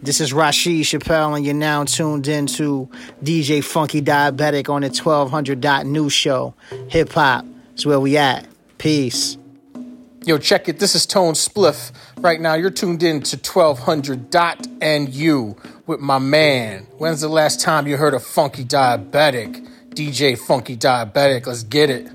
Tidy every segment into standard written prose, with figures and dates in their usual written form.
This is Rashid Chappelle, and you're now tuned in to DJ Funky Diabetic on the 1200.news show. Hip hop is where we at. Peace. Yo, check it. This is Tone Spliff. Right now, you're tuned in to 1200.nu with my man. When's the last time you heard of Funky Diabetic? DJ Funky Diabetic. Let's get it.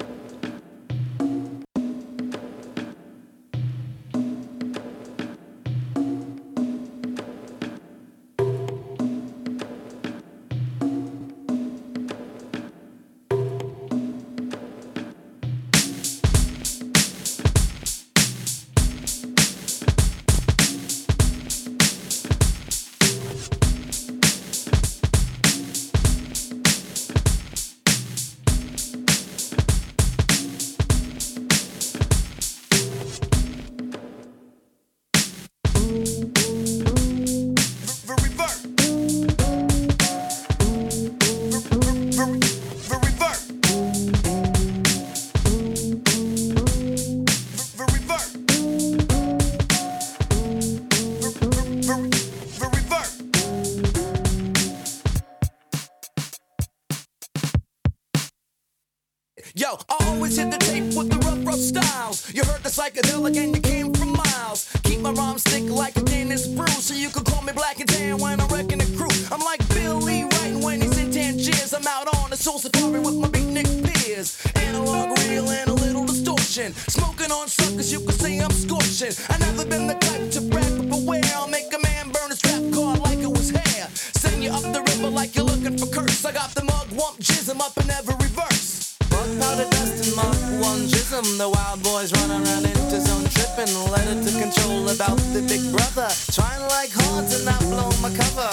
Yo, I always hit the tape with the rough styles. You heard the psychedelic and you came from miles. Keep my rhymes thick like a Guinness brew, so you can call me Black and Tan when I'm wrecking the crew. I'm like Billy Wright when he's in Tangiers. I'm out on the soul safari with my beatnik peers. Analog reel and a little distortion. Smoking on suckers, you can say I'm scorching. I never been the type to brag, but beware, I'll make a man burn his rap card like it was hair. Send you up the river like you're looking for curse. I got the mug, wump, jism up in every verse. Powder dust and Mark 1 jism. The wild boys run around into zone tripping. Let it to control about the big brother. Trying like hard to not blow my cover.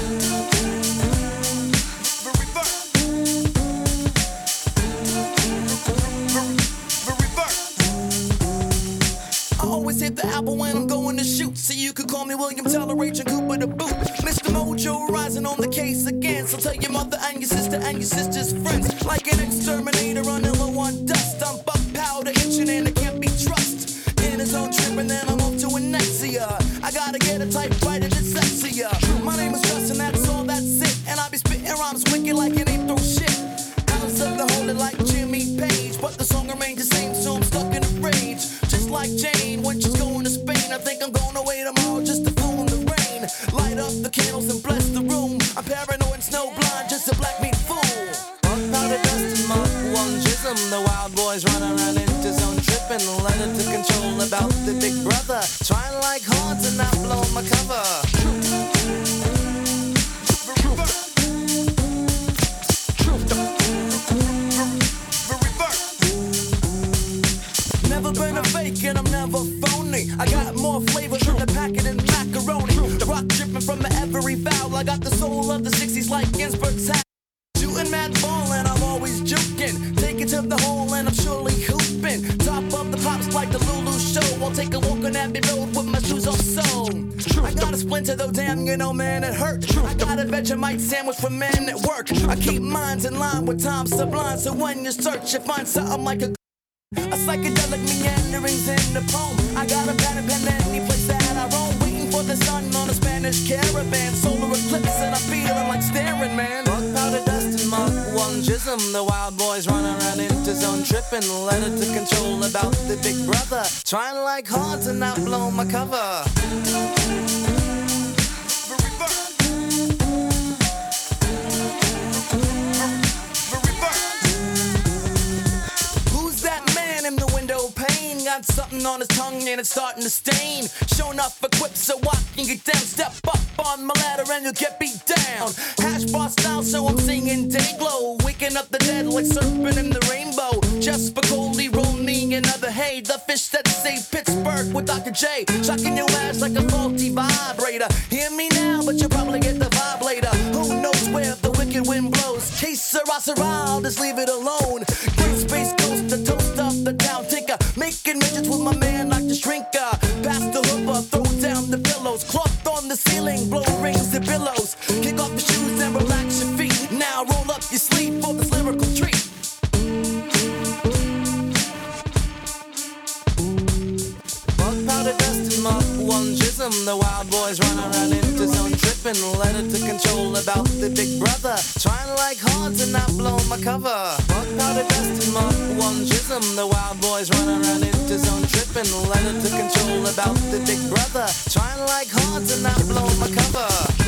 I always hit the apple when I'm going to shoot. So you could call me William Teller, Agent Cooper the boot. Mr. Mojo rising on the case again. So tell your mother and your sister and your sister's friends. Like an exterminator on low on dust. I'm buck powder itching and it can't be trust. In his own trip and then I'm off to Anexia. I gotta get a typewriter that's sexier. My name is Justin, that's all, that's it. And I be spitting rhymes wicked like it ain't throw shit. House of the holy like Jimmy Page. But the song remains the same, so I'm stuck in a rage. Just like Jane when she's going to Spain. I think I'm going away tomorrow just to fool in the rain. Light up the candles and bless the room. I'm paranoid and snowblind, just a black meat fool. Powder dust and Mark 1 jism. The wild boys run around into zone tripping. Let it to control about the big brother. Trying like hard to not blow my cover. Never been a fake and I'm never phony. I got more flavor than the packet and macaroni. The rock dripping from every vowel. I got the soul of the 60s like Ginsberg's hat. Shooting mad ball and I'm always joking. Take it to the hole and I'm surely hooping. Top of the pops like the Lulu show. I'll take a walk on Abbey Road with my shoes off so. I got a splinter though, damn, you know, man, it hurt. I got a Vegemite sandwich for men at work. I keep minds in line with time sublime. So when you search, you find something like a psychedelic meanderings in the poem. I got a pad and pen any place that I roam. Waiting for the sun on a Spanish caravan. Solar eclipse and I'm feeling like staring, man. Powder dust and Mark 1 jism. The wild boys run around into zone tripping. Let it to control about the big brother. Trying like hard to not blow my cover. Got something on his tongue and it's starting to stain. Showing up equipped so I can get down. Step up on my ladder and you'll get beat down. Hash bar style, so I'm singing Dayglow. Waking up the dead like surfing in the rainbow. Just Spicoli, roll me another hay. The fish that say Pittsburgh with Dr. J. Shocking your ass like a faulty vibrator. Hear me now, but you'll probably get the vibe later. Who knows where the wicked wind blows? Case Syrah, I'll just leave it alone. Great space coast, the toast of the town tinker. Making midgets with my man like the shrinker. Pass the hoover, throw down the pillows. Cloth on the ceiling, blow rings and billows. Kick off your shoes and relax your feet. Now roll up your sleeve for this lyrical treat. Bug powder dust and Mark 1 jism. The wild boys run around into zone the big brother. Trying like hard to not blow my cover. Fuck powder dust and Mark 1 Chisholm. The wild boys running around into zone tripping. Leonard took control about the big brother. Trying like hard to not blow my cover.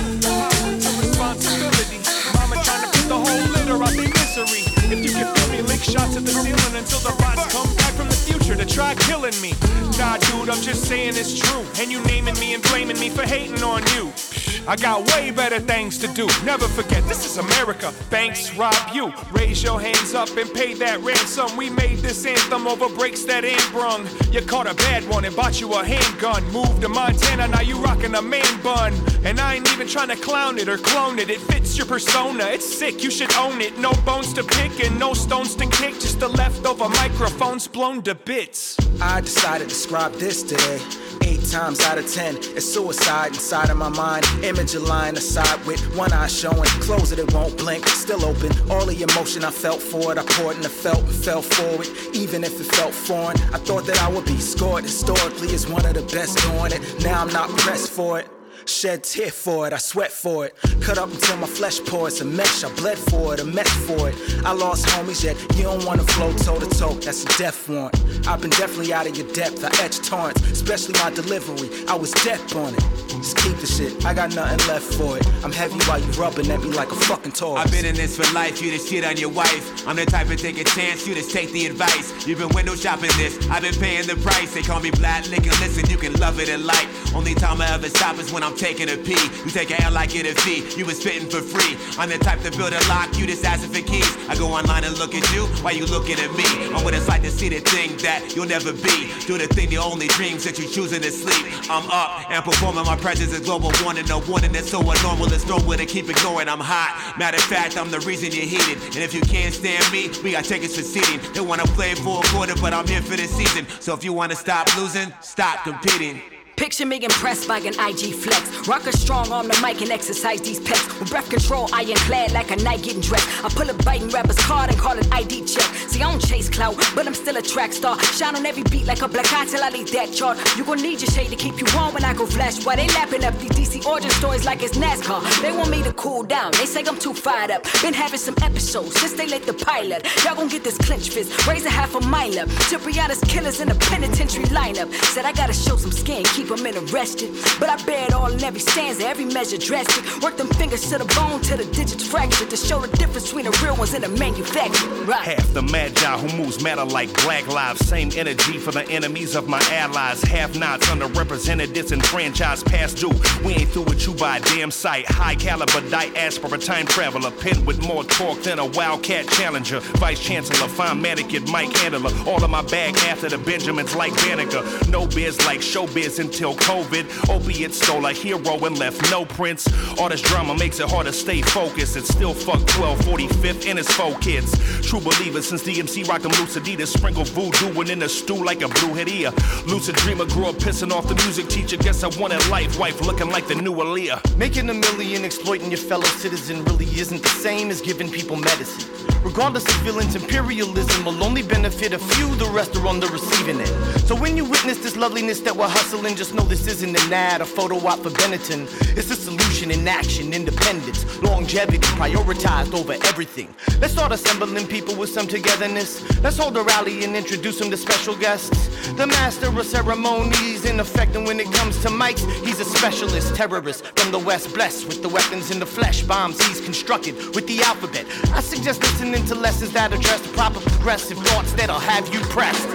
Responsibility. Mama trying to put the whole litter out their misery. If you can feel me, lick shots at the ceiling until the rots come back from the future to try killing me. Nah, dude, I'm just saying it's true. And you naming me and blaming me for hating on you. I got way better things to do. Never forget, this is America. Banks rob you. Raise your hands up and pay that ransom. We made this anthem over breaks that ain't brung. You caught a bad one and bought you a handgun. Moved to Montana, now you rockin' a man bun. And I ain't even trying to clown it or clone it. It fits your persona, it's sick, you should own it. No bones to pick and no stones to kick. Just the leftover microphones blown to bits. I decided to describe this today. 8 times out of 10, it's suicide inside of my mind. Image a line aside with one eye showing. Close it, it won't blink, still open. All the emotion I felt for it, I poured and I felt and fell forward. Even if it felt foreign, I thought that I would be scored historically as one of the best doing it. Now I'm not pressed for it. Shed tear for it, I sweat for it. Cut up until my flesh pours a mesh. I bled for it, a mesh for it. I lost homies yet you don't wanna flow toe to toe. That's a death warrant. I've been definitely out of your depth. I etch torrents, especially my delivery. I was death on it. Just keep the shit. I got nothing left for it. I'm heavy while you rubbing at me like a fucking toy. I've been in this for life. You just shit on your wife. I'm the type to take a chance. You just take the advice. You've been window shopping this. I've been paying the price. They call me Black Liquor. Listen, you can love it and like. Only time I ever stop is when I'm taking a pee. You take a L like it a fee. You was spitting for free. I'm the type to build a lock. You just asking for keys. I go online and look at you while you looking at me. I'm what it's like to see the thing that you'll never be. Do the thing, the only dreams that you choosing to sleep. I'm up and performing. My presence is global warning. No warning that's so abnormal. There's nowhere to keep ignoring. I'm hot. Matter of fact, I'm the reason you're heated. And if you can't stand me, we got tickets for seating. They wanna play for a quarter, but I'm here for the season. So if you wanna stop losing, stop competing. Picture me impressed by an IG flex. Rock a strong on the mic and exercise these pecs. With breath control, ironclad like a knight getting dressed. I pull a biting rapper's card and call it ID check. See, I don't chase clout, but I'm still a track star. Shine on every beat like a black eye till I leave that chart. You gon' need your shade to keep you warm when I go flash. Why they lapping up these DC origin stories like it's NASCAR? They want me to cool down, they say I'm too fired up. Been having some episodes since they let the pilot. Y'all gon' get this clinch fist, raise a half a mile up. Cipriana's killers in the penitentiary lineup. Said I gotta show some skin, keep them arrested. But I bear it all in every stanza, every measure drastic. Work them fingers to the bone till the digits fractured to show the difference between the real ones and the manufactured. Right. Half the magi who moves matter like black lives. Same energy for the enemies of my allies. Have-nots, underrepresented, disenfranchised, past due. We ain't through with you by a damn sight. High caliber, diaspora, time traveler. Pen with more torque than a wildcat challenger. Vice chancellor, fine mannequin, Mike Handler. All of my bag after the Benjamins like Banneker. No biz like showbiz until COVID. Opiates stole a hero and left no prints. All this drama makes it hard to stay focused. It's still fuck 1245th and his 4 kids. True believer since DMC rocked them loose Adidas. Sprinkle voodoo and in the stew like a blue head ear. Lucid dreamer grew up pissing off the music teacher. Guess I wanted life, wife looking like the new Aaliyah. Making a million exploiting your fellow citizen really isn't the same as giving people medicine. Regardless of feelings, imperialism will only benefit a few, the rest are on the receiving end. So when you witness this loveliness that we're hustling, just know this isn't an ad, a photo op for Benetton. It's a solution in action, independence, longevity, prioritized over everything. Let's start assembling people with some togetherness. Let's hold a rally and introduce them to special guests. The master of ceremonies in effect, and when it comes to mics, he's a specialist terrorist from the West, blessed with the weapons in the flesh, bombs he's constructed with the alphabet. I suggest listening to lessons that address the proper progressive thoughts that'll have you pressed.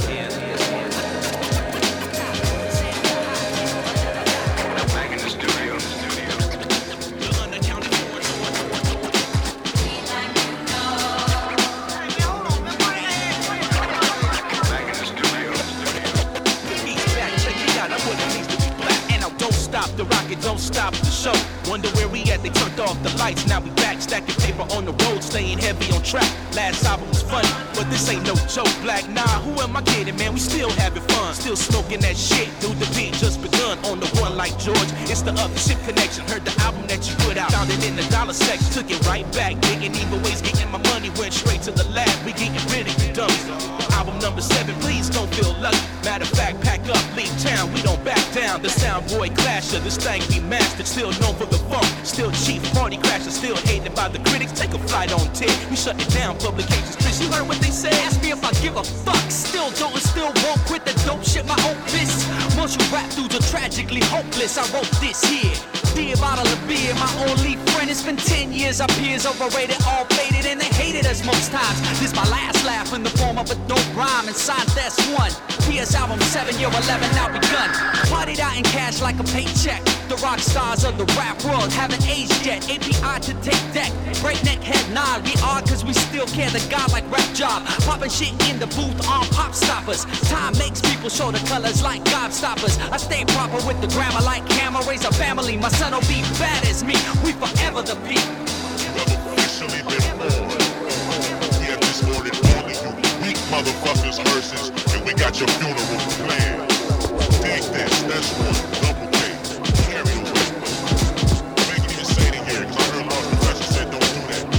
The rocket don't stop the show. Wonder where we at, they turned off the lights. Now we back, stacking paper on the road, staying heavy on on track. Last album was funny, but this ain't no joke. Black, nah, who am I kidding, man? We still having fun, still smoking that shit. Dude, the beat just begun on the one like George. It's the other shit connection. Heard the album that you put out, found it in the dollar section. Took it right back, digging either ways, getting my money. Went straight to the lab, we getting rid of you dummies. Album number 7, please don't feel lucky. Matter of fact, pack up, leave town, we don't back down. The Sound Boy Clasher, this thing we mastered. Still known for the funk, still chief party crasher. Still hated by the critics, take a flight on 10. We shut it down, publications. Chris, you heard what they said? Ask me if I give a fuck. Still don't and still won't quit the dope shit, my opus. Most you rap dudes are tragically hopeless. I wrote this here. Be a bottle of beer, my only friend. It's been 10 years, our peers overrated, all faded, and they hated us most times. This my last laugh in the form of a dope rhyme, and signed that's 1. PS album 7, year 11 now begun. Partied out in cash like a paycheck. The rock stars of the rap world haven't aged yet. API to take deck, breakneck head nod. We are cause we still care, the god like rap job. Popping shit in the booth on pop stoppers. Time makes people show the colors like gobstoppers. I stay proper with the grammar like hammer. Raise a family, my son will be bad as me. We forever the peak. Officially been born. Yeah, this morning all of you weak motherfuckers hearses, and we got your funeral planned. Dig this, that's one. Double K. Carry the weight. I ain't even say it here, cause I heard Lost Professor said don't do that.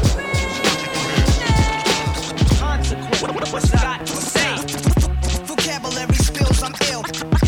So what you do this? What's that to say? Vocabulary spills, I'm ill.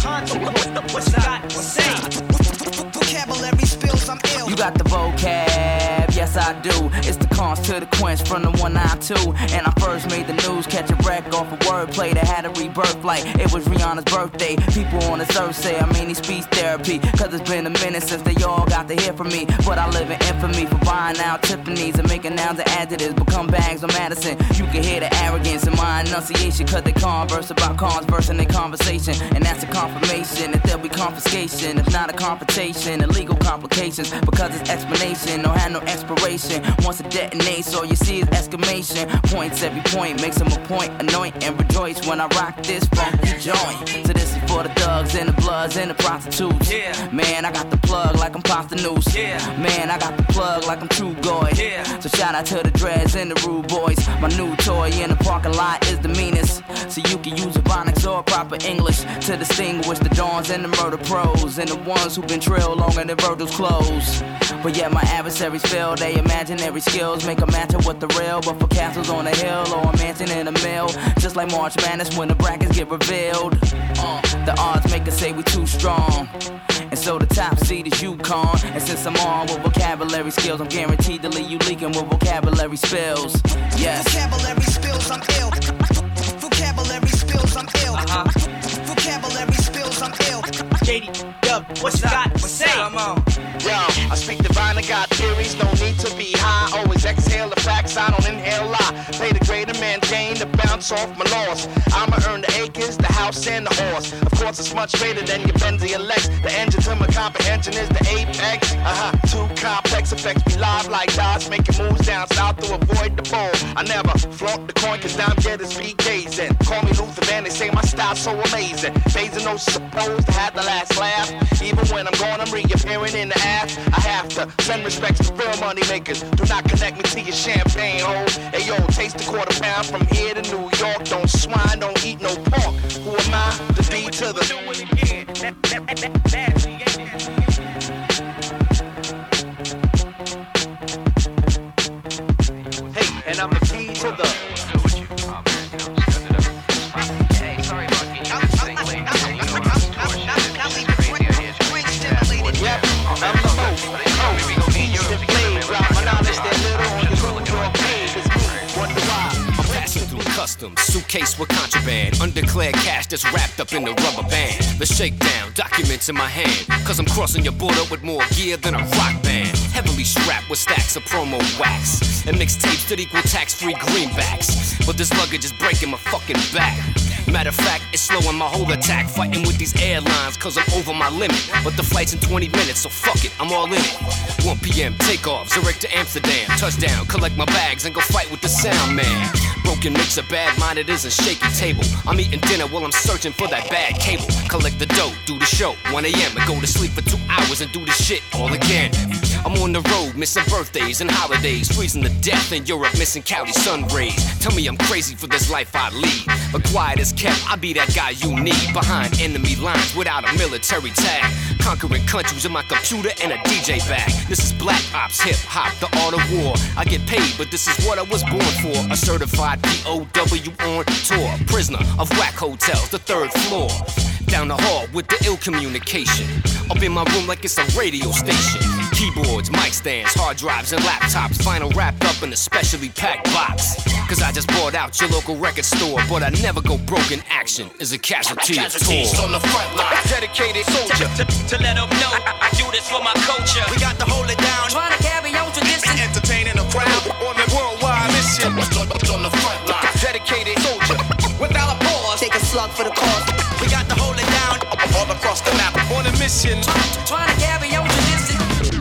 What's that to say? Vocabulary spills, I'm ill. You got the vocab, yes I do. It's the cons to the quench from the 192. And I first made the news, catch a wreck off a wordplay that had a rebirth like it was Rihanna's birthday. People on this earth say I may need speech therapy, cause it's been a minute since they all got to hear from me. But I live in infamy for buying out Tiffany's and making nouns and adjectives become bags on Madison. You can hear the arrogance in my enunciation, cause they converse about converse in their conversation. And that's a confirmation that there'll be confiscation, if not a confrontation, and legal complications, because it's explanation, no had no expiration. Once it detonates, all you see is exclamation points. Every point makes them a point, anoint and rejoice when I rock this funky joint. So this is for the thugs and the bloods and the prostitutes. Yeah. Man, I got the plug like I'm Pasta Noose. Yeah. Man, I got the plug like I'm True Goy. Yeah. So shout out to the dreads and the rude boys. My new toy in the parking lot is the meanest. So you can use Ebonics or proper English to distinguish the dawns and the murder pros and the ones who've been trailed longer than Virgil's clothes. But yet my adversaries fail, they imaginary skills make a match up with the real. But for castles on a hill or a mansion in a mill, just like March Madness when the brackets get revealed, the odds make us say we too strong. And so the top seed is UConn. And since I'm on with vocabulary skills, I'm guaranteed to leave you leaking with vocabulary spills. Yes. Vocabulary spills, I'm ill. Vocabulary spills, I'm ill. Vocabulary spills, I'm ill. JD, what's that to say? Come on. Yo, I speak divine, I got theories, no need to be high. Always exhale the facts, I don't inhale lie. Play the greater man game to bounce off my loss. I'ma earn the acres, the house, and the horse. Of course, it's much greater than your Benzie and Lex. The engine to my comprehension is the apex. Too complex effects be live like dots, making moves down south to avoid the bowl. I never flaunt the coin, cause down getters be gazing. Call me Luther Van, they say my style's so amazing. Phasing those supposed to have the last laugh. Even when I'm gone, I'm reappearing in the ass. I have to send respects to real money makers. Do not connect me to your champagne hole. Hey yo, taste a quarter pound from here to New York. Don't swine, don't eat no pork. Who am I? The D to the. Do it again. Hey, and I'm the key to the. Suitcase with contraband, undeclared cash that's wrapped up in the rubber band. The shakedown, documents in my hand, cause I'm crossing your border with more gear than a rock band. Heavily strapped with stacks of promo wax and mixtapes that equal tax-free greenbacks. But this luggage is breaking my fucking back. Matter of fact, it's slowing my whole attack. Fighting with these airlines cause I'm over my limit. But the flight's in 20 minutes, so fuck it, I'm all in it. 1 p.m. takeoff, Zurich to Amsterdam. Touchdown, collect my bags and go fight with the sound man. Broken mix of bad-minded is a shaky table. I'm eating dinner while I'm searching for that bad cable. Collect the dough, do the show, 1 a.m. and go to sleep for 2 hours and do the shit all again. I'm on the road, missing birthdays and holidays, freezing to death in Europe, missing Cali sun rays. Tell me I'm crazy for this life I lead, but quiet as kept, I be that guy you need. Behind enemy lines without a military tag, conquering countries with my computer and a DJ bag. This is Black Ops, hip hop, the art of war. I get paid, but this is what I was born for. A certified POW on tour, prisoner of whack hotels, the 3rd floor. Down the hall with the ill communication, up in my room like it's a radio station. Keyboards, mic stands, hard drives and laptops, vinyl wrapped up in a specially packed box. Cause I just bought out your local record store, but I never go broke in action. Is a casualty of tour. On the front line, dedicated soldier to let them know I do this for my culture. We got to hold it down, Trying to carry on tradition, entertaining the crowd on the worldwide mission. On the front line, dedicated soldier without a pause. take a slug for the cause. We got to hold it down all across the map on a mission. Trying to carry on tradition.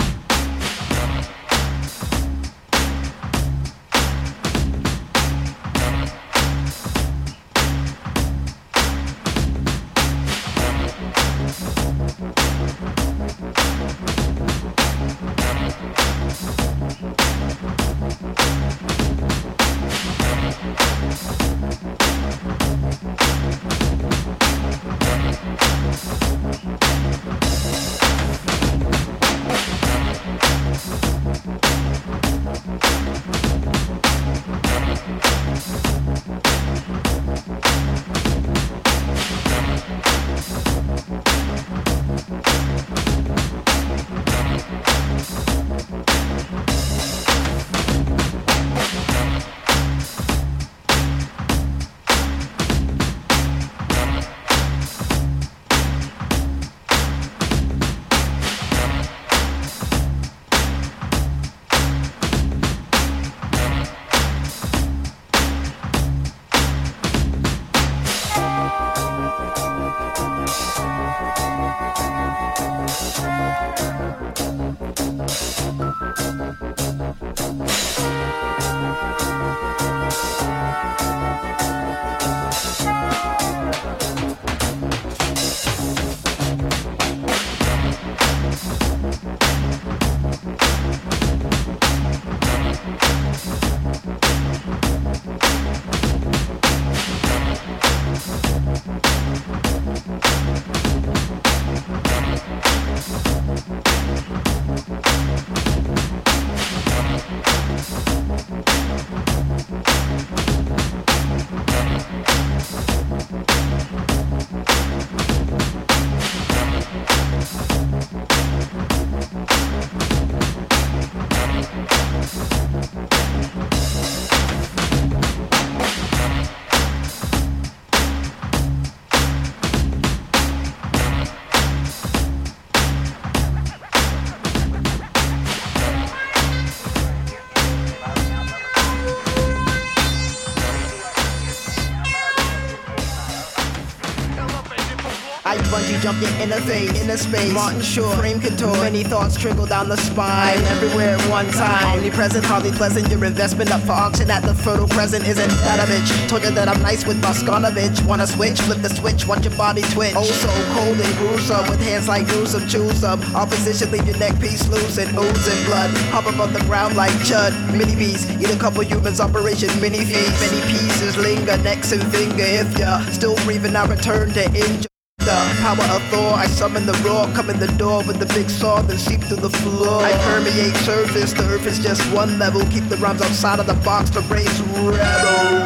I bungee jumped in inner space. Martin Short, frame couture. Many thoughts trickle down the spine. Everywhere at one time. Omnipresent, hardly pleasant. Your investment up for auction at the fertile present isn't that a bitch. Told you that I'm nice with Boskanovich. Wanna switch? Flip the switch. Watch your body twitch. Oh, so cold and gruesome. With hands like Newsome, choose some. Opposition, leave your neck piece loose and oozing blood. Hop up on the ground like Chud. Mini bees. Eat a couple humans. Operation mini feeds. Many pieces linger. Necks and finger. If ya still breathing, I return to injure. The power of Thor, I summon the roar, come in the door with the big saw, then seep through the floor. I permeate surface, the earth is just one level. Keep the rhymes outside of the box to raise rebels.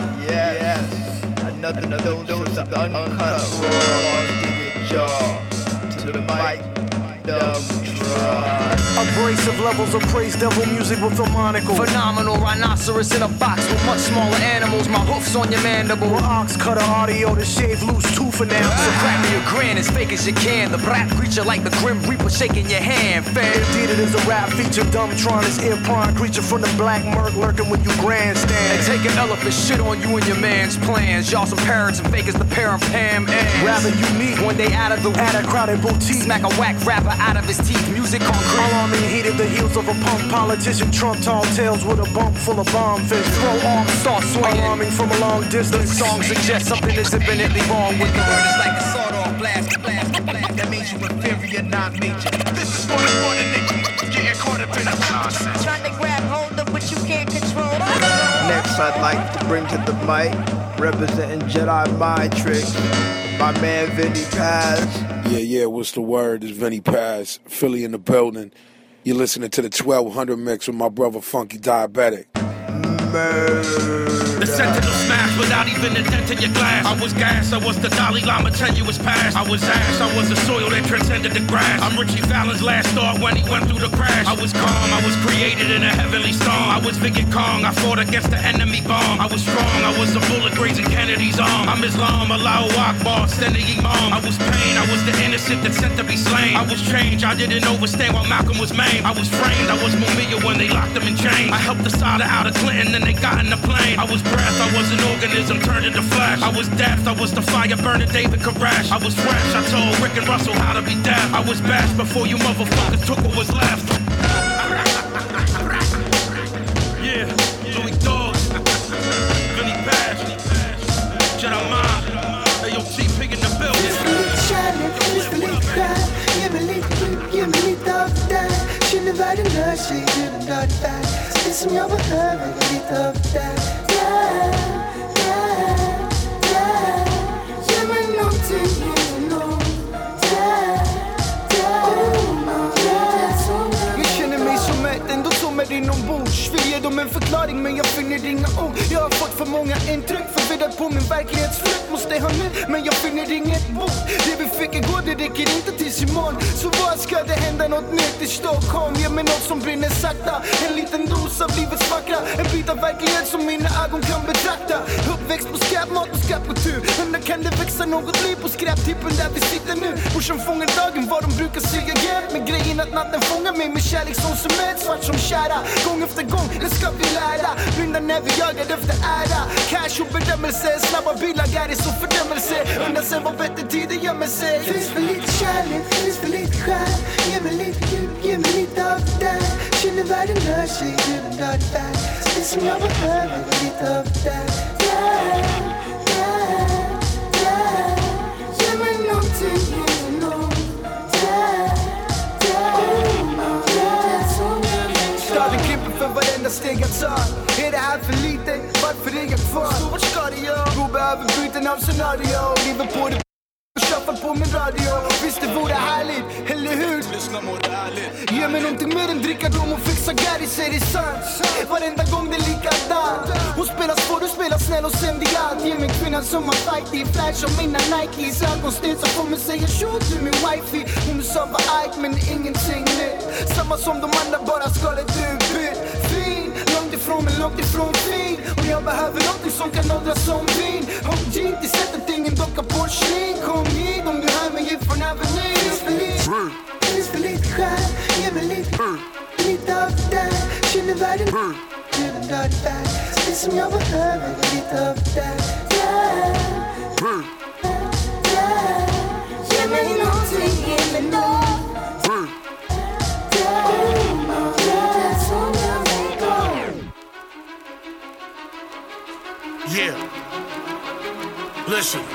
Yes, another dose of uncut raw. Dig your jaw to the mic, dumb try. Abrasive levels of praise, devil music with a monocle. Phenomenal rhinoceros in a box with much smaller animals. My hoofs on your mandible. With ox cutter audio to shave loose tooth and now. So crack me a grin as fake as you can. The black creature like the Grim Reaper shaking your hand, fam. Indeed it is a rap feature. Dumbtron is ear prawn creature from the black murk lurking when you grandstand. And take an elephant shit on you and your man's plans. Y'all some parrots and fake as the parent Pam and rather unique when they out of the at a crowded boutique. Smack a whack rapper out of his teeth. Music concrete. Alarming heated the heels of a punk politician. Trump tall tales with a bump full of bomb fish. Throw arms, start swinging. Alarming from a long distance. The song suggests something is infinitely wrong with the word. It's like a sawed-off blast. That means you inferior, not major. This is for the niggas getting caught nonsense. Trying to grab hold of what you can't control. Next, I'd like to bring to the mic, representing Jedi Mind Tricks, my man Vinny Paz. Yeah, what's the word? It's Vinny Paz, Philly in the building. You're listening to the 1200 mix with my brother Funky Diabetic. The sentinel smashed without even a dent in your glass. I was gas, I was the Dalai Lama tenuous past. I was ash, I was the soil that transcended the grass. I'm Richie Fallon's last thought when he went through the crash. I was calm, I was created in a heavenly storm. I was Vicky Kong, I fought against the enemy bomb. I was strong, I was a bullet grazing Kennedy's arm. I'm Islam, Allahu Akbar, standing Imam. I was pain, I was the innocent that's sent to be slain. I was change, I didn't overstand while Malcolm was maimed. I was framed, I was Mumia when they locked him in chains. I helped the solder out of Clinton and they got in the plane. I was breath, I was an organism turned into flesh. I was death, I was the fire burning David Koresh. I was fresh, I told Rick and Russell how to be deaf. I was bashed before you motherfuckers took what was left. Yeah, Louis Dogs, Vinny Paz, Jedi Mind, AOT Pig in the building. Känner världen rör sig genom dödfärd. Det som jag behöver är lite av det. Ge mig någonting inom Jag känner mig som ett ändå som är inombords. Vill ge dem en förklaring men jag finner inga ord. Jag har fått för många intryck, förvirrad på min verklighetsflykt. Måste ha nu, men jag finner inget bord. Det vi fick igår, det räcker inte tills imorgon. Så vad ska det hända något nytt i Stockholm? Ge mig något som brinner sakta. En liten dos av livets vackra. En bit av verklighet som mina ögon kan betrakta. Uppväxt på skräpmat och skräpkultur. Undrar kan det växa något liv på skräptippen där vi sitter nu? Morsan fångar dagen vad de brukar säga hjälp. Med grejen att natten fångar mig med kärlek som cement. Svart som kära, gång efter gång, det ska vi lära. Blinda när vi jagar efter ära. Cash och bedömelse, snabba bilar är så fördömelse. Undrar sen vad bättre tider gömmer sig. Finns för lite kärlek, finns för lite skär. Ge mig lite djup, ge mig lite av det. Känner världen rör sig genom dödfärd. Det som jag behöver är lite av det. Ge mig någonting inom Staden klipper för varenda steg jag tar. Är det här för lite? Varför är jag kvar? Så vart ska det jag? Gå behöver byten av scenario. Lever på det shuffle på min radio. Visst det vore härligt, eller hur? Lyssna mot ärligt. Ge mig någonting mer än dricka dom och fixa Gary, säger det sant. Varenda gång det är likadant. Hon spelar svår, du spelar snäll och sen det allt. Ge mig kvinnan som har fight i flash och mina Nikes. Ögonsten som får mig säga shoot till min wifey. Hon sa var arg men ingenting nytt. Samma som de andra, bara skalet du bytt. Fin, långt ifrån men långt ifrån fin. Och jag behöver någonting som kan åldras som vin. OG, det sättet ingen docka porslin. Kom hit om du hör mig ifrån Avenue. Finns för lite skär, ge mig lite av det. Känner världen genom dödfärd. Det som jag behöver är lite av det. Ge mig någonting inom Yeah. Listen.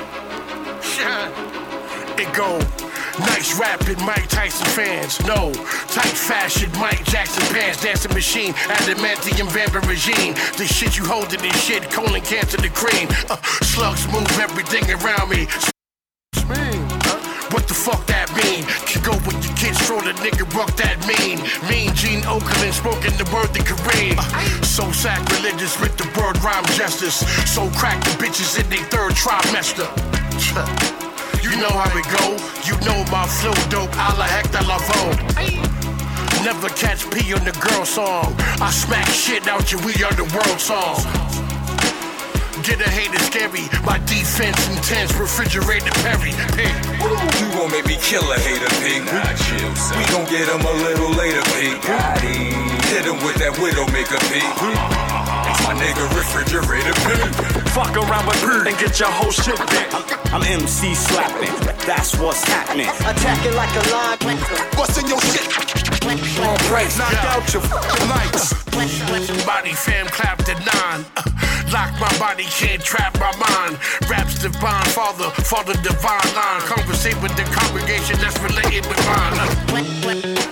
It go. Nice rapping Mike Tyson fans. No. Tight fashion Mike Jackson pants. Dancing machine. Adamantium vampire regime. The shit you holding this shit. Colon cancer the cream. Slugs move everything around me. What the fuck that mean? Can go with your kids, throw the nigga rock that mean. Mean Gene Okerlund spoken the word the Kareem. So sacrilegious with the word rhyme justice. So crack the bitches in their third trimester. You know how it go. You know my flow dope. A la Hector Lavoe. Never catch P on the girl song. I smack shit out you, we are the world song. Get a hater scary, my defense intense, refrigerator Perry, pig. You gon' make me kill a hater, pig. We gon' get him a little later, pig. Hit him with that Widowmaker, pig. My nigga refrigerator, pig. Fuck around with pig and get your whole shit back. I'm MC slapping, that's what's happening. Attack it like a lion. What's in your shit? All praise, knock out your fucking lights. Body fam clapped at 9. Lock my body, can't trap my mind. Raps divine, father divine line. Conversate with the congregation that's related with mine.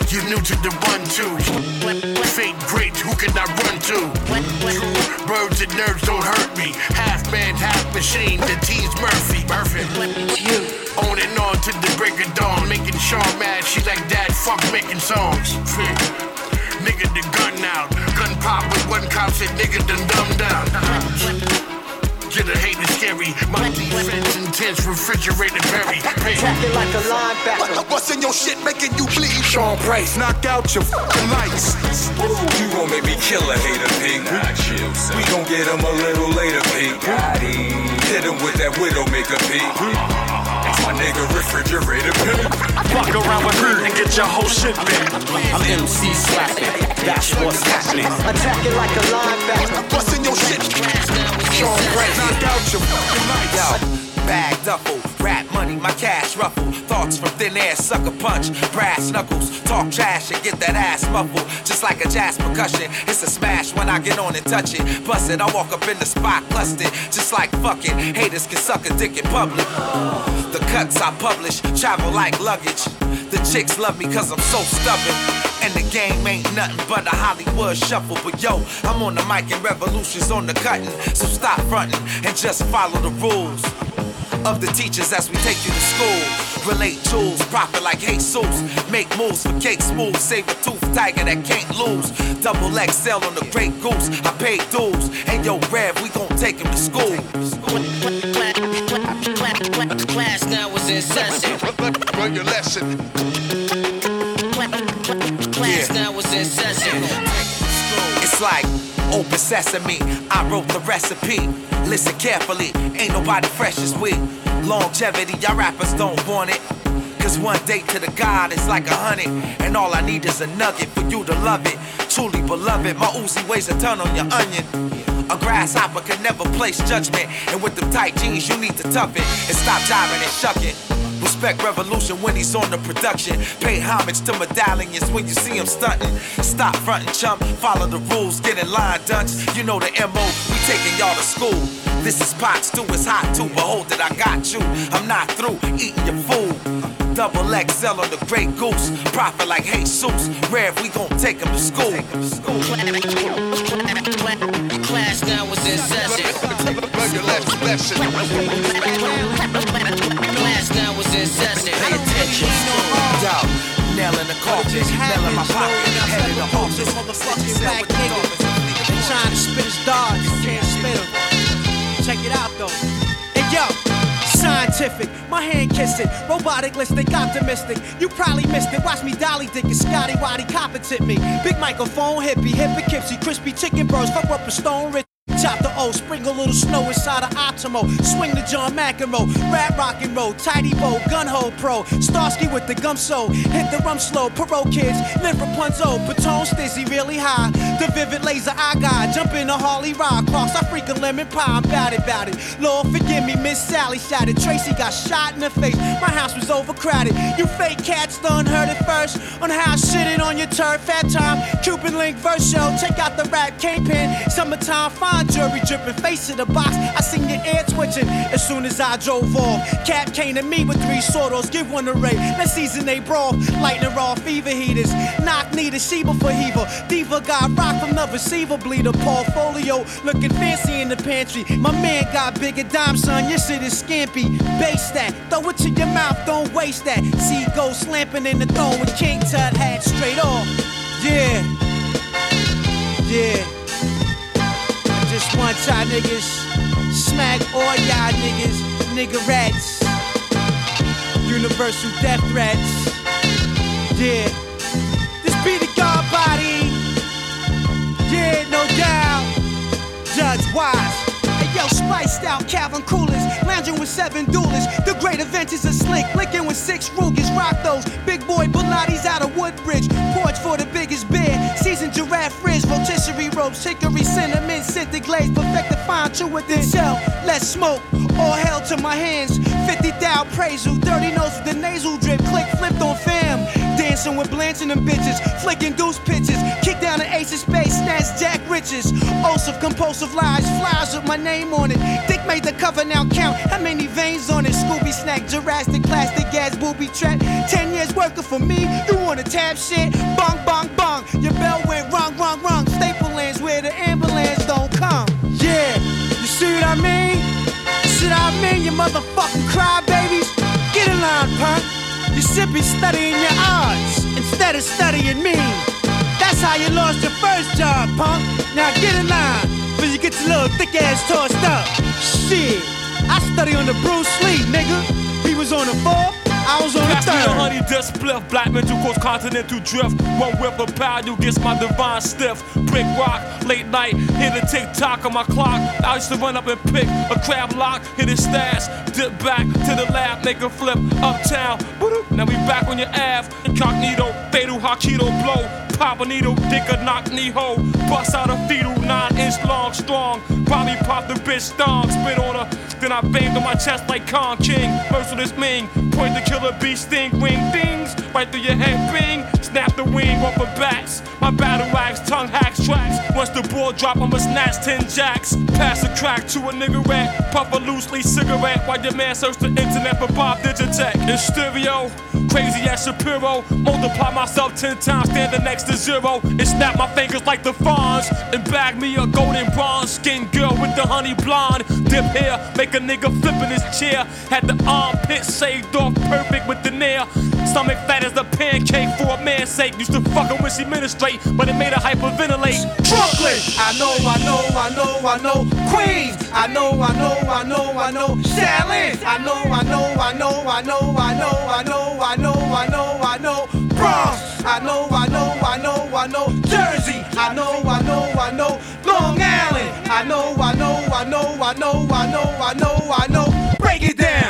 You new to the 1-2. Fate great, who can I run to? Birds and nerves don't hurt me. Half man, half machine, the T's Murphy. On and on to the break of dawn. Making Sean mad, she like dad, fuck making songs. Nigga the gun out. Gun pop with one cop said nigga done dumbed down. Get a hater scary. My defense intense, refrigerated berry. Tracking like a linebacker. What's in your shit making you bleed? Sean Price, knock out your fucking lights. You gon' make me kill a hater, pig. Nah, chill, son. We gon' get him a little later, pig. Hit him with that Widowmaker, pig. That's my nigga refrigerator, pig. Fuck around with me and get your whole shit bent. I'm MC slapping. That's what's happening. Attacking like a linebacker. What's in your shit? Sean Price, knock out your fucking lights. Yo, bag duffel, rap money, my cash ruffle. Thoughts from thin air, sucker punch, brass knuckles. Talk trash and get that ass muffled. Just like a jazz percussion, it's a smash when I get on and touch it. Bust it, I walk up in the spot, clustered. Just like fucking haters can suck a dick in public. The cuts I publish, travel like luggage. The chicks love me cause I'm so stubborn. And the game ain't nothing but a Hollywood shuffle. But yo, I'm on the mic and revolution's on the cutting. So stop fronting and just follow the rules of the teachers as we take you to school. Relate tools, profit like Jesus. Make moves for cake smooth. Save a tooth tiger that can't lose. Double XL on the Great Goose. I paid dues. And yo, Rev, we gon' take him to school. Class now is in session. Learn your lesson. Class now is in session. It's like open sesame. I wrote the recipe. Listen carefully, ain't nobody fresh as we. Longevity, y'all rappers don't want it. Cause one day to the God is like 100. And all I need is a nugget for you to love it. Truly beloved, my Uzi weighs a ton on your onion. A grasshopper can never place judgment. And with them tight jeans, you need to tough it. And stop jiving and shucking. Respect Revolution when he's on the production. Pay homage to medallions when you see him stunting. Stop fronting, chump, follow the rules, get in line, dunce. You know the MO, we taking y'all to school. This is pot stew, it's hot too. Behold it, I got you. I'm not through eating your food. Double XL on the Great Goose. Profit like Jesus. Rev, we gon' take him to school. Class now is in session. Learn your lesson. Class now is in session. Pay attention. Yo, nail in the coffin, nail in my pocket, head in the office. Motherfucking black nigga trying to spit his darts, can't spit him. Check it out though. Hey yo, scientific, my hand kiss it. Robotic-listic, optimistic. You probably missed it. Watch me dolly dick and Scotty Waddy competent me. Big microphone, hippie, Poughkeepsie, crispy chicken burst. Fuck up a stone rich. Chop the O, sprinkle a little snow inside of Optimo. Swing the John McEnroe, rap rock and roll, tidy bow, gun hole pro. Starsky with the gum so, hit the rum slow. Perot kids, live Rapunzel, Patone stizzy really high. The vivid laser I got, jump in a Harley rock. Cross, I freak a lemon pie, I'm bout it. Lord forgive me, Miss Sally shot it. Tracy got shot in the face, my house was overcrowded. You fake cats done heard it first on how I shitted on your turf. Fat time, Cuban link verse show. Check out the rap kingpin, summertime fine. Jury dripping, face of the box. I seen your ear twitching as soon as I drove off. Cap came to me with 3 sortos, give one a ray. Let's season they broth, lighting raw fever heaters. Knock needed, Sheba for Heaver. Diva got rock from the receiver bleeder. Portfolio looking fancy in the pantry. My man got bigger dime, son. Your shit is scampy. Base that, throw it to your mouth, don't waste that. See go slamping in the throne with King Tut hat straight off. Yeah. Just one time niggas, smack all y'all niggas, nigga rats, universal death threats. Yeah, this be the God body. Yeah, no doubt. Judge Wise. Hey yo, spiced out Calvin Coolers, lounging with 7 duelists. The great event is a slick, licking with 6 Rugers. Rock those big boy Pilates out of Woodbridge. Porch for the biggest bear, seasoned giraffe frizz, rotisserie ropes, hickory cinnamon, scented glaze, perfect the fine chew within cell. Let's smoke, all hell to my hands. 50 thou praise you, dirty nose with the nasal drip, click flipped on fam. Dance Dancing with Blanche and them bitches, flicking deuce pitches, kick down the ace of space, snatch Jack Riches. Oaths of compulsive lies, flowers with my name on it. Dick made the cover, now count how many veins on it. Scooby snack, Jurassic, plastic gas, booby trap. 10 years working for me, you wanna tap shit? Bong, bong, bong, your bell went wrong, wrong, wrong. Staple lands where the ambulance don't come. Yeah, you see what I mean? See what I mean, you motherfucking crybabies? Get in line, punk. You should be studying your odds instead of studying me. That's how you lost your first job, punk. Now get in line, before you get your little thick ass tossed up. Shit, I study on the Bruce Lee, nigga. He was on the 4th, I was on the 3rd. Pass me the honey dust spliff, black mental cause continental drift. One whip of power, you gets my divine stiff. Brick rock, late night, hit a tick-tock on my clock. I used to run up and pick a crab lock, hit his stash, dip back to the lab, make a flip uptown. Now we back on your Ave, incognito, fatal Hakido blow. Pop a needle, dick a knock knee hole. Bust out a fetal, 9-inch long, strong. Bobby popped the bitch thong, spit on her. Then I banged on my chest like Kong King. Merciless Ming, point the killer bee sting, wing dings. Right through your head, bing. Snap the wing off of bats. My battle axe, tongue hacks tracks. Once the ball drop, I'ma snatch 10 jacks. Pass a crack to a nigga rat. Puff a loose leaf cigarette while your man search the internet for Bob Digitech. In stereo, crazy as Shapiro. Multiply myself 10 times, standing next to 0. And snap my fingers like the fawns. And bag me a golden bronze skin girl with the honey blonde. Dip hair, make a nigga flip in his chair. Had the armpit saved off perfect with the nair. Stomach fat as a pancake for a man's sake. Used to fuck her when she ministrate, but it made her hyperventilate. Brooklyn, I know. Queens, I know. Shaolin, I know. Bronx, I know. Jersey, I know. Long Island, I know. Break it down.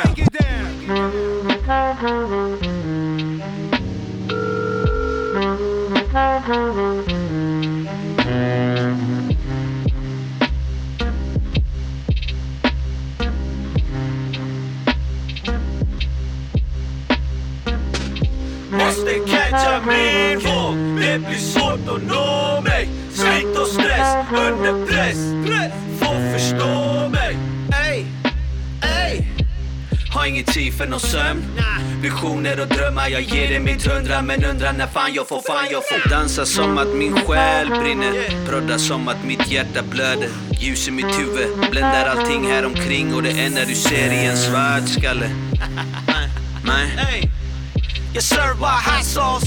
Måste catcha min våg, det blir svårt att nå mig. Slit och stress under press, får förstå mig. Ey, har ingen tid för någon sömn. Visioner och drömmar, jag ger det mitt 100. Men undrar när fan jag får dansa som att min själ brinner. Prodda som att mitt hjärta blöder. Ljus i mitt huvud, bländar allting här omkring. Och det enda du ser i en svart skalle. Nej. Jag servar hot sauce.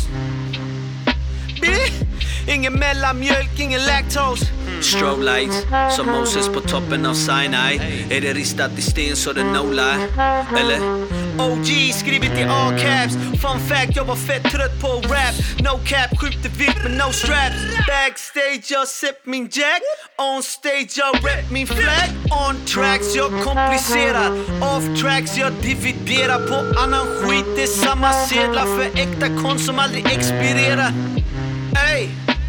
Ingen mellanmjölk, ingen lactose. Strobe lights, som Moses på toppen av Sinai. Är det ristat i sten så det no lie? Eller? OG skrivit i all caps. Fun fact, jag var fett trött på rap. No cap, skjuter vitt med no straps. Backstage, jag sip min jack. On stage, jag rap min flag. On tracks, jag komplicerar. Off tracks, jag dividerar. På annan skit, det är samma sedlar. För äkta konst som aldrig expirerar. Ey.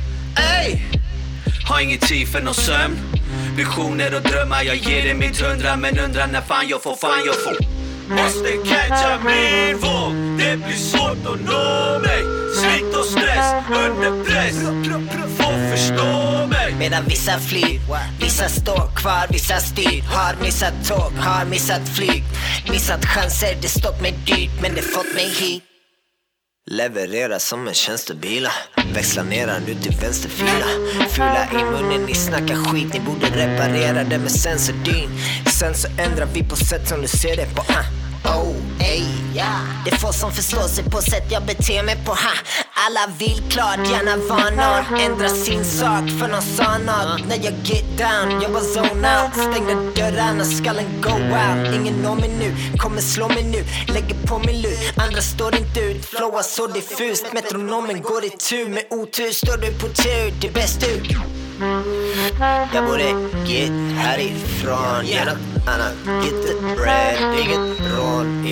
Har ingen tid för någon sömn. Visioner och drömmar, jag ger det mitt 100. Men undrar när fan jag får. Måste catcha min våg, det blir svårt att nå mig. Slit och stress under press, får förstå mig. Medan vissa flyr, vissa står kvar, vissa styr. Har missat tåg, har missat flyg. Missat chanser, det stått mig dyrt. Men det fått mig hit. Leverera som en tjänstebila. Växla ner nu till vänsterfila. Fula i munnen, ni snackar skit. Ni borde reparera det med sensordyn. Sen så ändrar vi på sätt som du ser det på. Det är få som förstår sig på sätt jag beter mig på. Alla vill klart, gärna vara någon. Ändra sin sak för någon sa något. När jag get down, jag var zone out. Stängde dörrarna, skallen go out. Ingen når mig nu, kommer slå mig nu. Lägger på min lur, andra står inte ut. Flowar så diffust, metronomen går i tur. Med otur står du på tur, det är bäst ut. Jag borde get härifrån. Gör något annat, get the bread. Inget rån.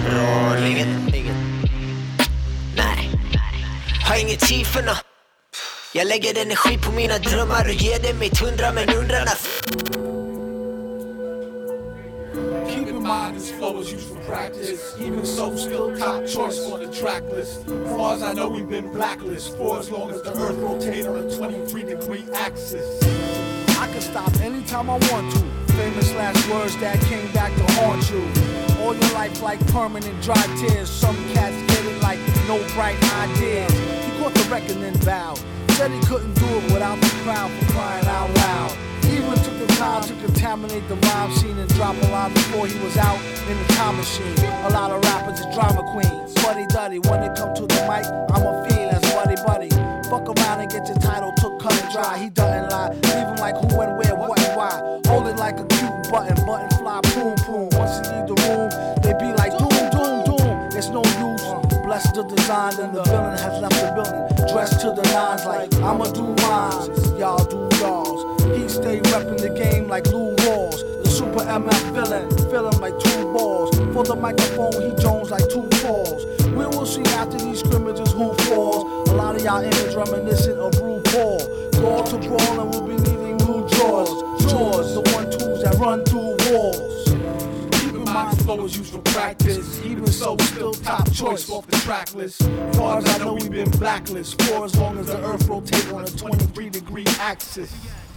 Nej, har ingen tid för nå. Jag lägger energi på mina drömmar och ger det mitt 100. Men undrar när mind, this flow is used for practice. Even so, still top choice on the track list. Far as I know, we've been blacklisted for as long as the earth rotates on a 23-degree axis. I can stop anytime I want to. Famous last words that came back to haunt you. All your life like permanent dry tears. Some cats get it like no bright ideas. He caught the record and vowed. Said he couldn't do it without the crowd for crying out loud. Even took the time to contaminate the rhyme scene and drop a line before he was out in the time machine. A lot of rappers are drama queens. Buddy duddy, when it come to the mic, I'm a fiend as buddy buddy. Fuck around and get your title took cut and dry. He doesn't lie, leave him like who and where, what and why. Hold it like a cute button fly, boom boom. Once he leave the room, they be like doom doom doom. It's no use. Bless the design and the villain has left the building. Dressed to the nines like I'ma do rhymes, y'all do y'alls. He stay reppin' the game like Lou Rawls. The super MF villain, feelin' like 2 balls. For the microphone, he Jones like 2 falls. We will see after these scrimmages who falls. A lot of y'all image reminiscent of RuPaul. Brawl to brawl and we'll be needing new drawers. Jaws, the 1-2s that run through walls. My flow is used for practice. Even so, still top choice off the track list. Far as I know, we've been blacklisted for as long as the earth rotates on a 23-degree axis.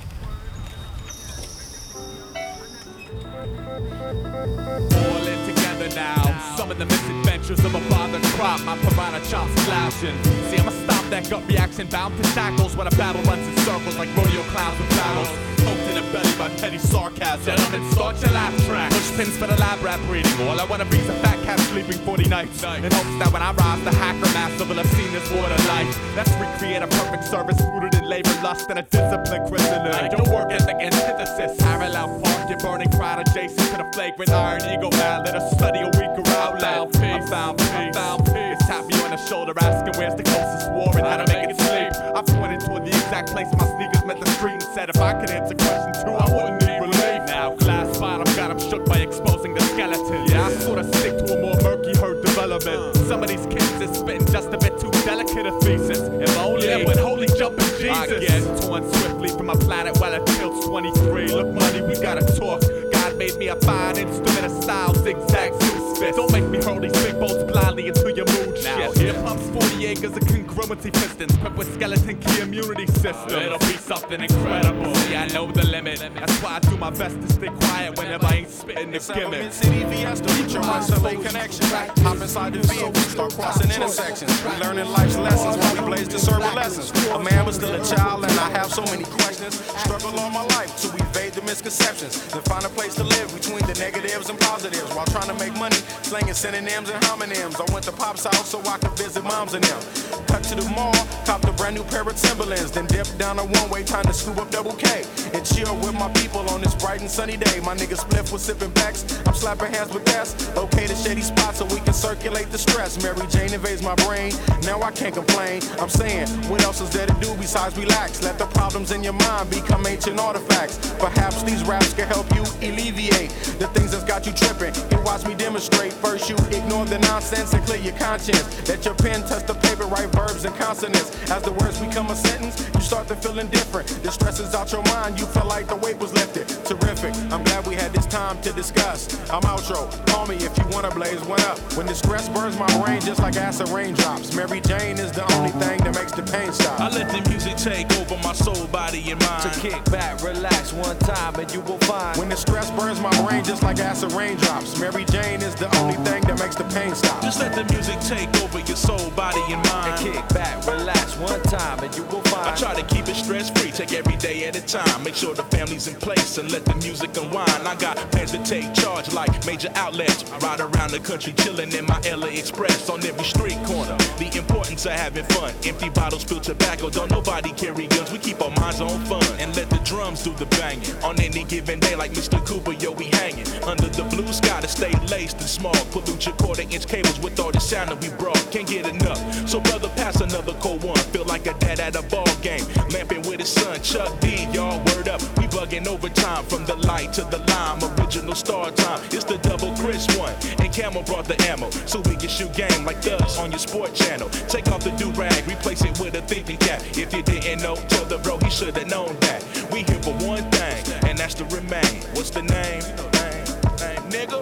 All in together now. Some of the misadventures of a bothered crop. My piranha chops slouching. See, I'ma stop that gut reaction bound to shackles when a battle runs in circles like rodeo clowns with battles. Poked in the belly by petty sarcasm. Gentlemen, start your laugh track. Push pins for the lab rap reading. All I wanna be is a fat cat sleeping 40 nights. In hopes that when I rise, the hacker master will have seen this water life. Let's recreate a perfect service rooted in labor, lust, and a disciplined christening. Your work ethic antithesis. Parallel park, your burning crowd adjacent to the flagrant iron ego man. Let us study a weaker outlet. I found peace. It's tap me on the shoulder asking where's the closest war and how to make it sleep. I pointed toward the exact place my sneakers met the street and said if I could answer question 2, I wouldn't need relief. Now glass bottom got him shook by exposing the skeleton. Yeah, I sort of stick to a more murky herd development. Some of these kids is spitting just a bit too delicate a thesis. If only, yeah, but holy jumping Jesus. I get torn swiftly from my planet while it tilts 23. Look money, we gotta talk. God made me a fine instrument of style, zigzag zoo spit. Don't make me hurl these big bolts blindly into your mood shit. Here pumps 40 acres of congruency pistons, equipped with skeleton key immunity system. It'll be something incredible. See, I know the limit. That's why I do my best to stay quiet whenever I ain't spitting the gimmick. City VS, the future, my LA connection. Hop inside the vehicle, start crossing intersections. We learning life's lessons while we blaze the server lessons. A man was still a child and I have so many questions. Struggle all my life to evade the misconceptions. Then find a place to live between the negatives and positives while trying to make money, slinging synonyms and homonyms. I went to Pop's house so I could visit moms and them. Cut to the mall, copped a brand new pair of Timberlands, then dipped down a one-way, time to scoop up double K and chill with my people on this bright and sunny day. My nigga Spliff was sipping backs, I'm slapping hands with that's okay to shady spots so we can circulate the stress. Mary Jane invades my brain, now I can't complain. I'm saying, what else is there to do besides relax? Let the problems in your mind become ancient artifacts. Perhaps these raps can help you alleviate the things that's got you tripping. You watch me demonstrate. First you ignore the nonsense and clear your conscience. Let your pen touch the paper, write verbs and consonants. As the words become a sentence, you start to feel indifferent. The stress is out your mind, you feel like the weight was lifted. Terrific, I'm glad we had this time to discuss. I'm outro, call me if you wanna blaze one up. When the stress burns my brain just like acid raindrops. Mary Jane is the only thing that makes the pain stop. I let the music take over my soul, body, and mind. To kick back, relax one time and you will find. When the stress burns my brain just like acid raindrops. Mary Jane is the only thing that makes the pain stop. Just let the music take over your soul, body, and mind. And kick back, relax one time and you will find. I try to keep it stress-free, take every day at a time. Make sure the family's in place and let the music unwind. I got plans to take charge like major outlets. Ride around the country chilling in my LA Express on every street corner. The importance of having fun. Empty bottles, spill tobacco. Don't nobody carry guns. We keep our minds on fun and let the drums do the banging. On any given day like Mr. Cooper, yo, we hanging. Under the blue sky to stay laced and small. Pollute your quarter-inch cables with all the sound that we brought. Can't get enough. So brother, pass another cold one. Feel like a dad at a ball game. Lamping with his son, Chuck D, y'all, word up. We bugging overtime from the light to the lime. Original star time. It's the double Chris one. And Camel brought the ammo. So we can shoot game like us on your sport channel. Take off the do-rag, replace it with a thinking cap. If you didn't know, tell the bro he should have known that. We here for one thing, and that's to remain. What's the name? Nigga? When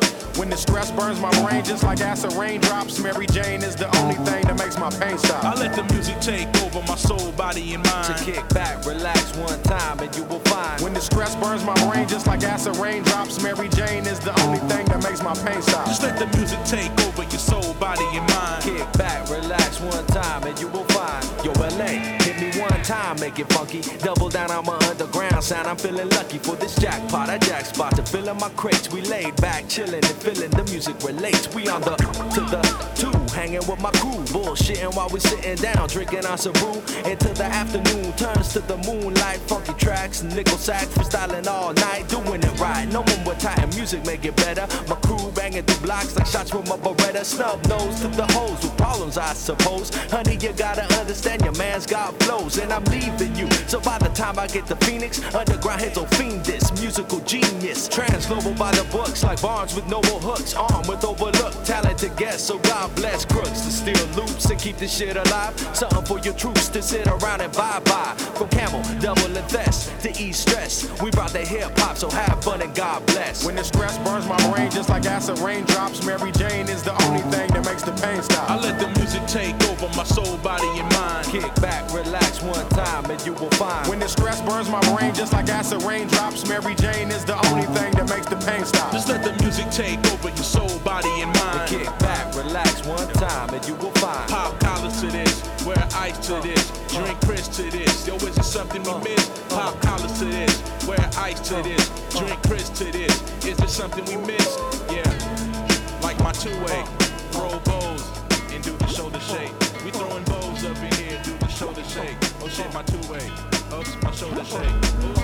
When the stress burns my brain just like acid raindrops, Mary Jane is the only thing that makes my pain stop. I let the music take over my soul, body, and mind. To kick back, relax one time, and you will find. When the stress burns my brain just like acid raindrops, Mary Jane is the only thing that makes my pain stop. Just let the music take over your soul, body, and mind. Kick back, relax one time, and you will find. Yo, LA, hit me one time, make it funky. Double down on my underground sound. I'm feeling lucky for this jackpot. I jack spot to fill in my crates. We laid back, chilling and feeling the music relates. We on the to the two, hanging with my crew, bullshitting while we sitting down, drinking on some brew. Until the afternoon turns to the moonlight. Funky tracks, nickel sax, freestyling all night, doing it right. No one with tight music make it better. My crew banging through blocks like shots from a Beretta. Snub nose to the hoes with problems, I suppose. Honey, you gotta understand your man's got flows, and I'm leaving you. So by the time I get to Phoenix, underground heads will fiend this musical genius. Transglobal by the books like Barnes with noble hooks, armed with overlooked talented guests. So God bless crooks to steal loops and keep this shit alive. Something for your troops to sit around and bye-bye. From Camel, double and Thess to ease stress. We brought the hip-hop, so have fun and God bless. When the stress burns my brain just like acid raindrops, Mary Jane is the only thing that makes the pain stop. I let the music take over my soul, body, and mind. Kick back, relax one time, and you will find. When the stress burns my brain just like acid raindrops, Mary Jane is the only thing that makes the pain stop. Just let the music take over your soul, body, and mind. Kick back, relax one time, and you will find. Pop collars to this, wear ice to this, drink Chris to this. Yo, is it something we miss? Pop collars to this, wear ice to this, drink Chris to this. Is it something we miss? Yeah, like my two-way, roll bows and do the shoulder shake. We throwing bows up in here, do the shoulder shake. Oh shit, my two-way, oops, my shoulder shake. Ooh.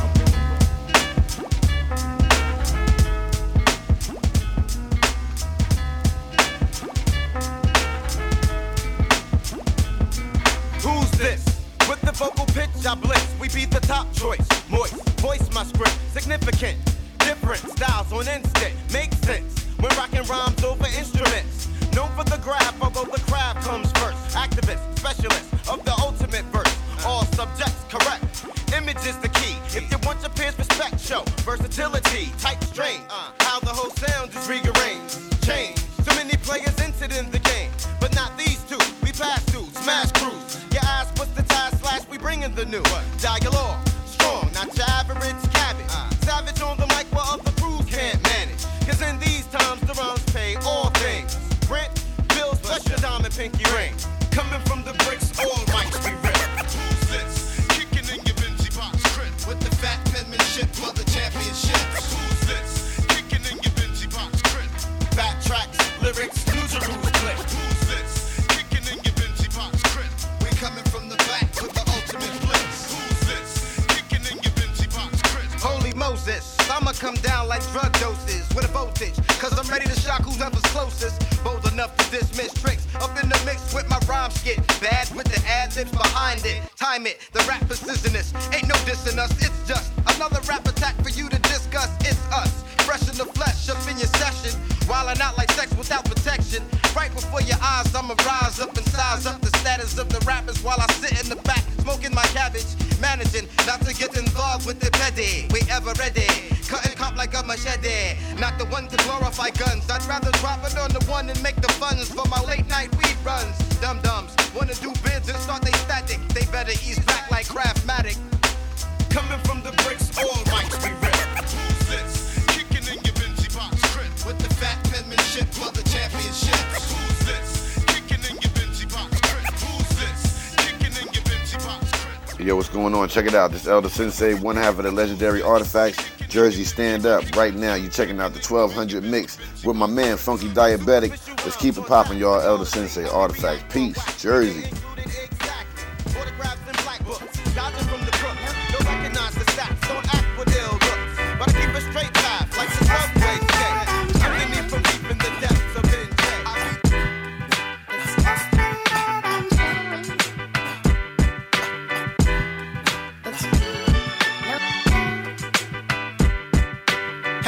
Who's this? With the vocal pitch, I blitz. We be the top choice. Moist, voice my script. Significant, different styles on instinct. Makes sense when rocking rhymes over instruments. Known for the graph, although the craft comes first. Activist, specialist of the ultimate verse. All subjects correct. Image is the key. If you want your peers respect, show versatility, type strange. How the whole sound is rearranged, change. So many players entered in the game, but not these two. We pass through, smash crews. Your eyes, what's the tie slash? We bringing the new dialogue, strong, not your average cabbage. Savage on the mic while other crews can't manage. Cause in these times the rhymes pay all things. Rent, bills, plus your diamond pinky ring. Coming from the bricks, all mics be ripped. Who's this? Kicking in your Benji box crib with the fat penmanship for the championships. Who's this? Kicking in your Benji box crib. Fat tracks, lyrics, news and rules clip. Who's this? Kicking in your Benji box crib. We coming from the back with the ultimate blitz. Who's this? Kicking in your Benji box crib. Holy Moses, I'ma come down like drug doses with a voltage. Cause I'm ready to shock whoever's closest. Bold enough to dismiss tricks. Up in the mix with my rhyme skit. Bad with the ad-libs behind it. Time it, the rap precisionist. Ain't no dissing us, it's just another rap attack for you to discuss. It's us, fresh in the flesh, up in your session. Wildin' out like sex without protection. Right before your eyes, I'ma rise up and size up the status of the rappers while I sit in the back, smoking my cabbage. Managing not to get involved with the petty. We ever ready, cutting cop like a machete. Not the one to glorify guns. I'd rather drop it on the one and make the funds for my late night weed runs. Dum-dums wanna do bids and start they static. They better ease back like Craftmatic. Coming from the bricks, all mics be ripped. Who's this? Kicking in your Benji box crib with the fat penmanship for the championships. Who's this? Kicking in your Benji box crib. Who's this? Kicking in your Benji box crib. Yo, what's going on? Check it out. This Elder Sensei, one half of the legendary Artifacts, Jersey Stand Up. Right now, you're checking out the 1200 mix with my man, Funky Diabetic. Let's keep it popping, y'all. Elder Sensei, Artifacts. Peace. Jersey.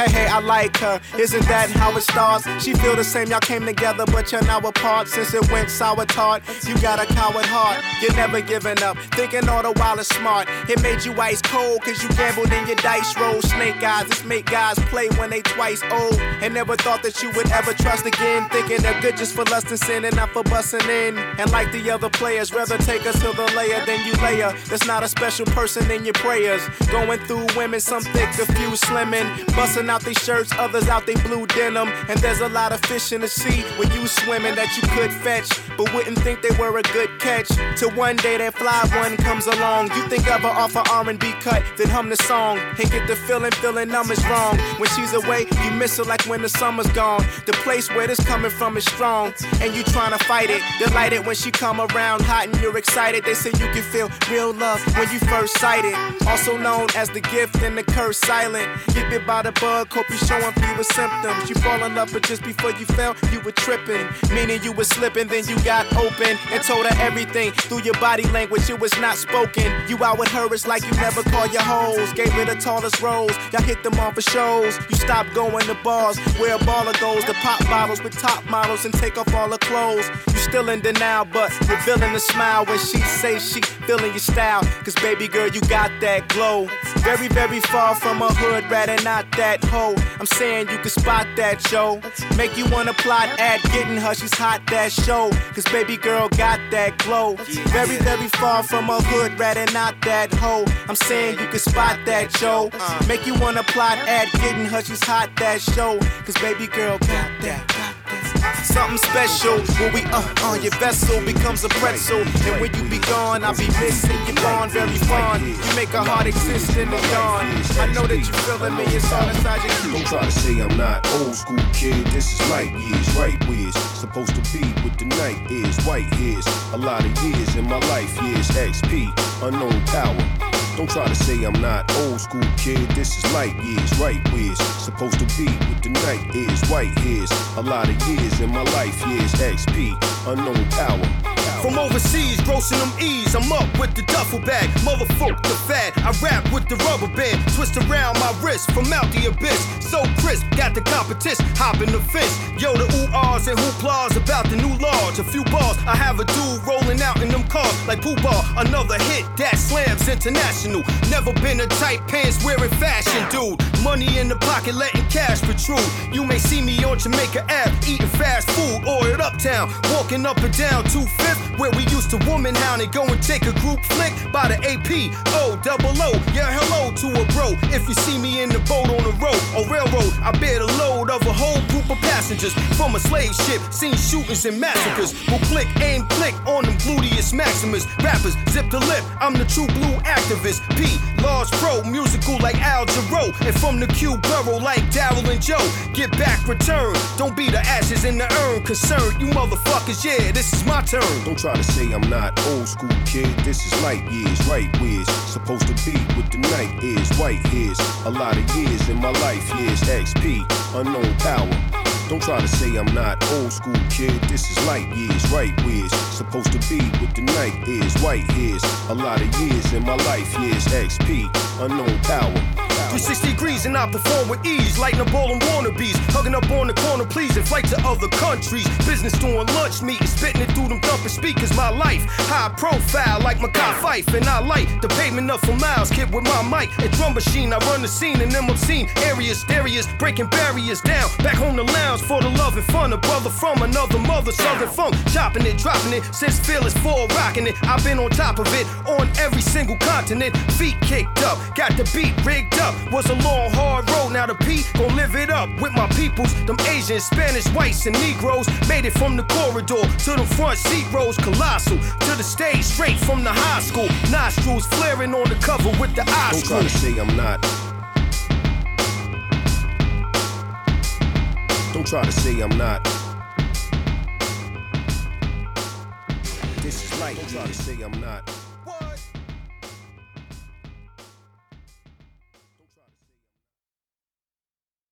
Hey, I like her. Isn't that how it starts? She feel the same, y'all came together, but you're now apart. Since it went sour tart, you got a coward heart. You're never giving up, thinking all the while is smart. It made you ice cold, cause you gambled in your dice roll. Snake eyes, this make guys play when they twice old. And never thought that you would ever trust again. Thinking they're good just for lust and sin and not for busting in. And like the other players, rather take us to the layer than you layer. There's not a special person in your prayers. Going through women, some thick, a few slimming. Busting out their shirts, others out they blue denim. And there's a lot of fish in the sea when you swimming that you could fetch, but wouldn't think they were a good catch. Till one day that fly one comes along. You think of her off an R&B cut, then hum the song. And get the feeling numb is wrong. When she's away, you miss her like when the summer's gone. The place where this coming from is strong, and you trying to fight it. Delighted when she come around hot and you're excited. They say you can feel real love when you first sight it. Also known as the gift and the curse silent. Get bit by the bug, hope you showing fewer symptoms. You fall in love, but just before you fell, you were tripping. Meaning you were slipping, then you got open and told her everything through your body language. It was not spoken. You out with her, it's like you never call your hoes. Gave her the tallest rose, y'all hit them on for shows. You stopped going to bars where a baller goes to pop bottles with top models and take off all her clothes. You still in denial, but revealing a smile when she say she feeling your style. Cause baby girl, you got that glow. Very, very far from a hood rat and not that hoe. I'm saying you can spot that, yo. Make you wanna plot at getting her, she's hot, that show. Cause baby girl got that glow. Very, very far from a hood rat and not that hoe. I'm saying you can spot that, yo. Make you wanna plot at getting her, she's hot, that show. Cause baby girl got that. Something special when we on your vessel becomes a pretzel. And when you be gone, I'll be missing you gone, very fond. You make a heart exist in the dawn. I know that you feeling me, it's all inside your key. Don't try to say I'm not old school, kid. This is light years, right years. Supposed to be with the night is white years. A lot of years in my life years. XP, unknown power. Don't try to say I'm not old school, kid. This is light years, right years. Supposed to be with the night is white years. A lot of years in my life years. XP, unknown power. From overseas, grossing them E's, I'm up with the duffel bag. Motherfuck the fat, I rap with the rubber band. Twist around my wrist from out the abyss. So crisp, got the competition, hopping the fence. Yo, the ooh-ahs and hooplas about the new laws. A few bars, I have a dude rolling out in them cars like Pooh Bar. Another hit, that slams international. Never been a tight pants wearing fashion, dude. Money in the pocket, letting cash protrude. You may see me on Jamaica Ave, eating fast food, or at Uptown, walking up and down 2/5. Where we used to woman hound and go and take a group flick by the APO. Yeah, hello to a bro. If you see me in the boat on the road or railroad, I bear the load of a whole group of passengers from a slave ship. Seen shootings and massacres. Will click, aim, click on them gluteus maximus. Rappers, zip the lip. I'm the true blue activist. P, large pro, musical like Al Jarreau. And from the Q borough like Daryl and Joe. Get back, return. Don't be the ashes in the urn. Concerned, you motherfuckers, yeah, this is my turn. Don't try to say I'm not old school, kid. This is light years, right years. Supposed to be with the night is white years. A lot of years in my life years. XP, unknown power. Don't try to say I'm not old school, kid. This is light years, right years. Supposed to be with the night is white years. A lot of years in my life years. XP, unknown power. 360 degrees and I perform with ease. Lighting up all them wannabes. Hugging up on the corner, please, and flight to other countries. Business doing lunch meetings, spitting it through them thumping speakers. My life, high profile like Mackay Fife. And I light the pavement up for miles. Kid with my mic and drum machine. I run the scene in them obscene areas. Breaking barriers down. Back home the lounge for the love and fun. A brother from another mother, southern funk. Chopping it, dropping it, since Fearless 4 rocking it. I've been on top of it, on every single continent. Feet kicked up, got the beat rigged up. Was a long, hard road, now the P gon' live it up with my peoples. Them Asians, Spanish, whites, and Negroes. Made it from the corridor to the front seat rows. Colossal, to the stage, straight from the high school. Nostrils flaring on the cover with the eyes. Don't try to say I'm not. Don't try to say I'm not. This is light. Don't try to say I'm not.